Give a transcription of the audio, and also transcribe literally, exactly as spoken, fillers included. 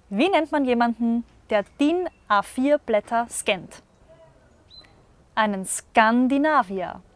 Wie nennt man jemanden, der D I N A vier Blätter scannt? Einen Skandinavier.